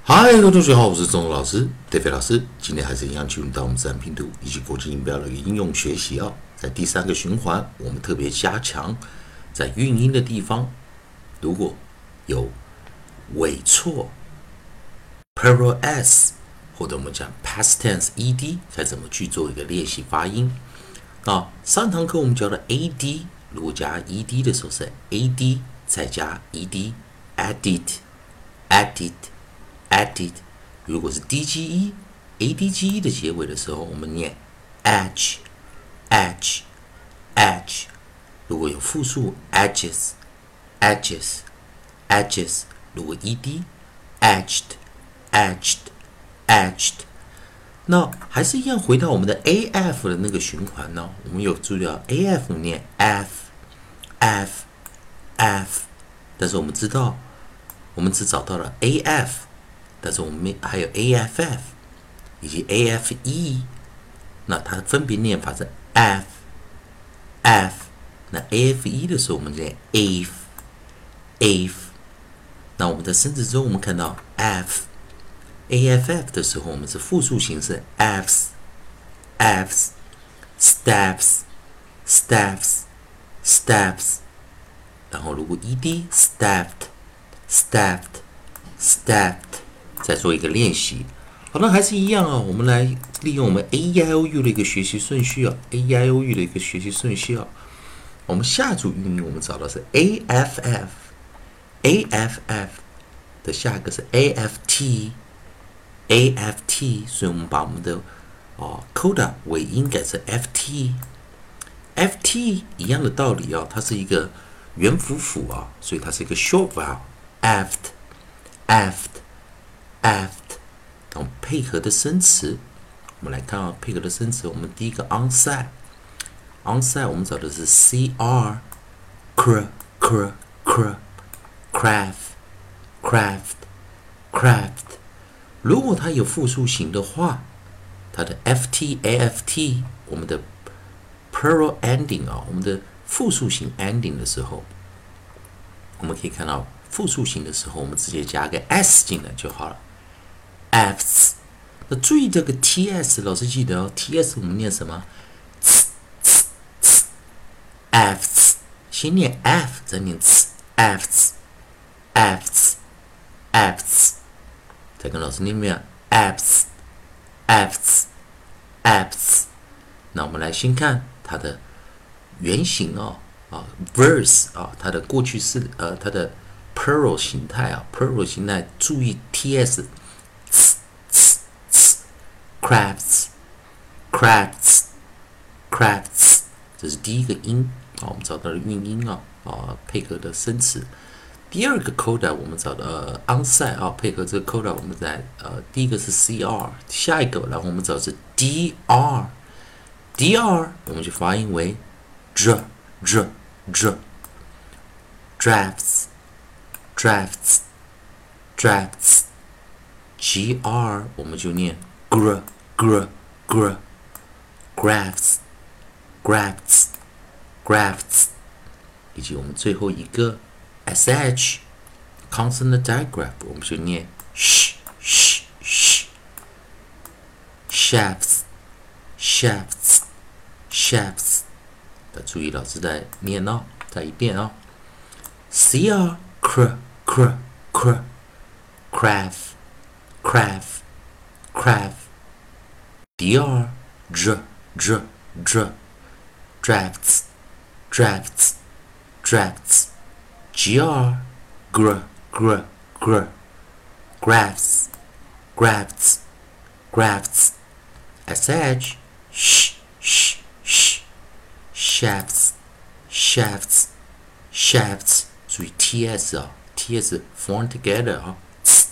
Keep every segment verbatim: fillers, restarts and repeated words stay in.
嗨，各位同学好，我是钟老师，David 老师。今天还是一样进入到我们自然拼读以及国际音标的一个应用学习啊。在第三个循环，我们特别加强在韵音的地方，如果有尾错 plural s 或者我们讲 past tense ed， 该怎么去做一个练习发音？啊，上堂课我们教的 ad， 如果加 ed 的时候是 ad 再加 ed，added，added。added， 如果是 dge adge 的结尾的时候，我们念 edge edge edge。如果有复数 edges edges edges， 如果 ed edged edged edged。那还是一样回到我们的 af 的那个循环呢？我们有注意到 af 念 f f f， 但是我们知道，我们只找到了 af。但是我们还有 aff 以及 afe， 那它分别念法是 f f。那 afe 的时候，我们念 af af。那我们在生词中，我们看到 f aff 的时候，我们是复数形式 fs fs steps steps steps。然后如果 ed stepped stepped stepped。再做一个练习，好，那还是一样啊。我们来利用我们 a e i o u 的一个学习顺序啊 ，a e i o u 的一个学习顺序啊。我们下组韵音我们找到是 aff，aff 的下一个是 aft，aft， 所以我们把我们的哦 coda 尾音改成 ft，ft 一样的道理啊，它是一个元辅辅啊，所以它是一个 short vowel，aft，aft。aft， 然后配合的生词，我们来看啊，配合的生词，我们第一个 onside，onside 我们找的是 cr cr cr cr craft craft craft。如果它有复数形的话，它的 ft aft 我们的 plural ending 啊，我们的复数形 ending 的时候，我们可以看到复数形的时候，我们直接加个 s 进来就好了。fs， 那注意这个 ts， 老师记得哦 ，ts 我们念什么 ？fs， 先念 f， 再念 fs，fs，fs， 再跟老师念一遍 fs，fs，fs。那我们来先看它的原型哦，啊 ，verse 啊，它的过去式，呃，它的 plural 形态啊 ，plural 形态，注意 ts。crafts crafts crafts， 这是第一个音啊，我们找到了韵音啊啊，配合的生词。第二个 coda 我们找到呃 onside 啊，配合这个 coda 我们在呃第一个是 cr， 下一个然后我们找的是 dr dr 我们就发音为 dr dr dr drafts drafts drafts gr 我们就念 gr gr gr grafts grafts grafts， 以及我们最后一个 sh consonant digraph 我们就念 sh sh sh shafts shafts shafts。注意老师在念哦，再一遍哦 cr cr cr cr craft craft craft dr dr dr dr drafts drafts drafts gr gr gr gr grafts grafts grafts sh sh sh sh shafts shafts shafts。注意 ts 啊 ，ts form together 啊。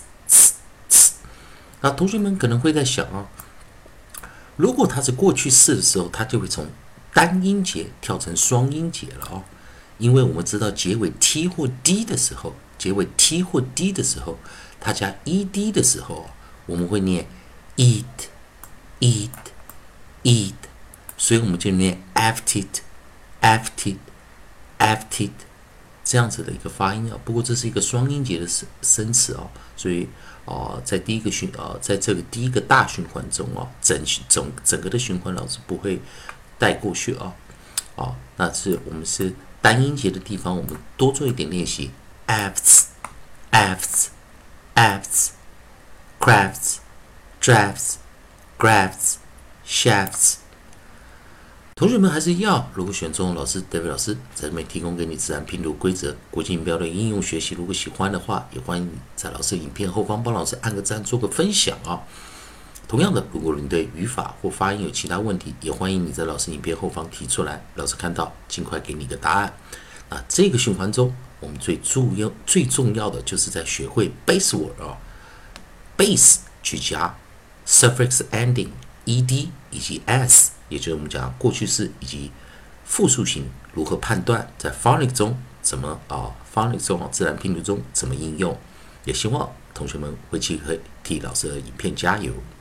那同学们可能会在想啊，如果它是过去式的时候，它就会从单音节跳成双音节了哦。因为我们知道结尾 t 或 d 的时候，结尾 t 或 d 的时候，它加 ed 的时候，我们会念 eat eat eat， 所以我们就念 afted afted afted。 这样子的一个发音啊。不过这是一个双音节的生生词啊，所以啊、呃，在第一个循啊、呃，在这个第一个大循环中啊，整整整个的循环老师不会带过去啊。啊，那是我们是单音节的地方，我们多做一点练习。Afts, afts, afts, crafts, drafts, grafts, shafts。同学们还是一样，如果选中老师 David 老师在这边提供给你自然拼读规则、国际音标的应用学习，如果喜欢的话，也欢迎你在老师影片后方帮老师按个赞，做个分享啊。同样的，如果你对语法或发音有其他问题，也欢迎你在老师影片后方提出来，老师看到尽快给你一个答案。那这个循环中，我们最重要、最重要的就是在学会 base word 啊 ，base 去加 suffix ending ed 以及 s， 也就是我们讲过去式以及复数型如何判断，在 phonics 中怎么啊 phonics 中啊自然拼读中怎么应用，也希望同学们会去替老师的影片加油。